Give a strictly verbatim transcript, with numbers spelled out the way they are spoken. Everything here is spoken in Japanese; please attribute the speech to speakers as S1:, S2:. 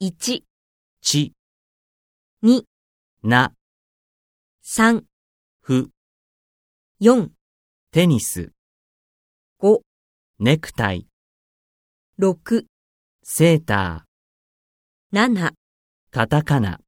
S1: いち、
S2: ち、
S1: に、
S2: な、
S1: さん、
S2: ふ、
S1: よん、
S2: テニス、
S1: ご、
S2: ネクタイ、
S1: ろく、
S2: セーター、
S1: なな、
S2: カタカナ。